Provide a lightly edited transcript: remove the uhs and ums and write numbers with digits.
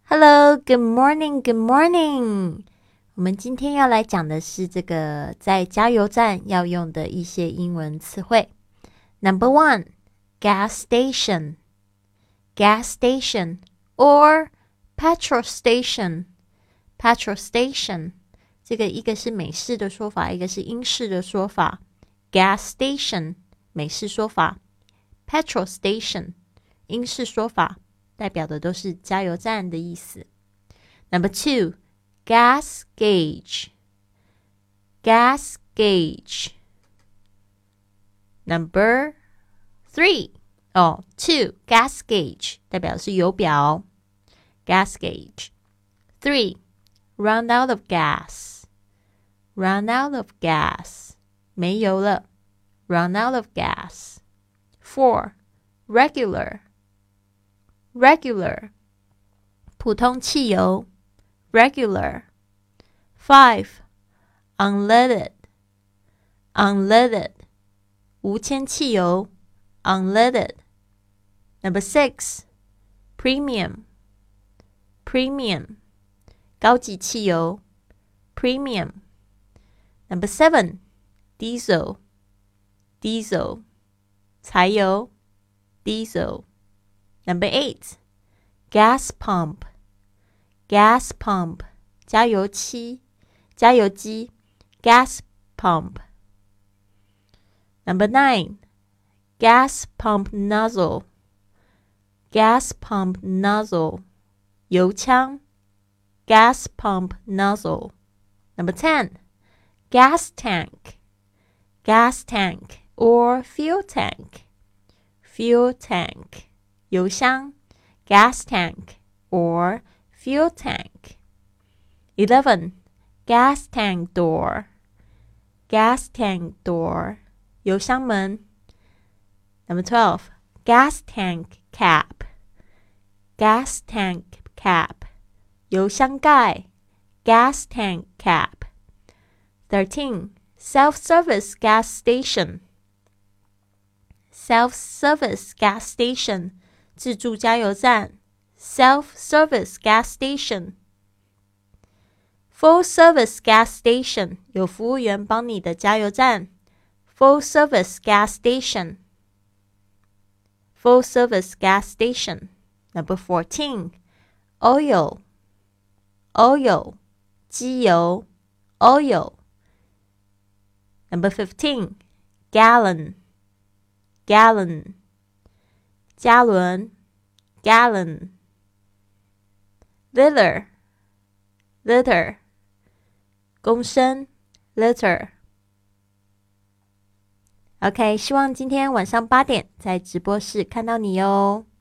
Hello, good morning, good morning. 我们今天要来讲的是这个在加油站要用的一些英文词汇。Number 1, gas station, gas station, or petrol station, petrol station. 这个一个是美式的说法，一个是英式的说法。Gas station, 美式说法。Petrol station, 英式说法。代表的都是加油站的意思。Number 2, gas gauge, gas gauge. Number 3, 2, gas gauge 代表的是油表 gas gauge. 3, run out of gas, run out of gas 没油了 run out of gas. 4, regular, regular 普通汽油 regular. 5, unleaded, unleaded 无铅汽油 unleaded. Number 6, premium, premium 高级汽油 premium. Number 7, diesel, diesel 柴油 diesel. Number 8, gas pump, gas pump 加油机 gas pump. Number 9, gas pump nozzle, gas pump nozzle 油枪 gas pump nozzle. Number 10, gas tank, gas tank or fuel tank, fuel tank 油箱 gas tank or fuel tank. 11, gas tank door, gas tank door 油箱门 Number 12, gas tank cap, gas tank cap 油箱盖 gas tank cap. 13, self-service gas station, self-service gas station 自助加油站 self-service gas station. Full service gas station 有服务员帮你的加油站 full service gas station, full service gas station. Number 14, oil, oil 机油 oil. Number 15, gallon, gallon 加仑 gallon. Liter, liter 公升 liter. OK, 希望今天晚上8点在直播室看到你哦。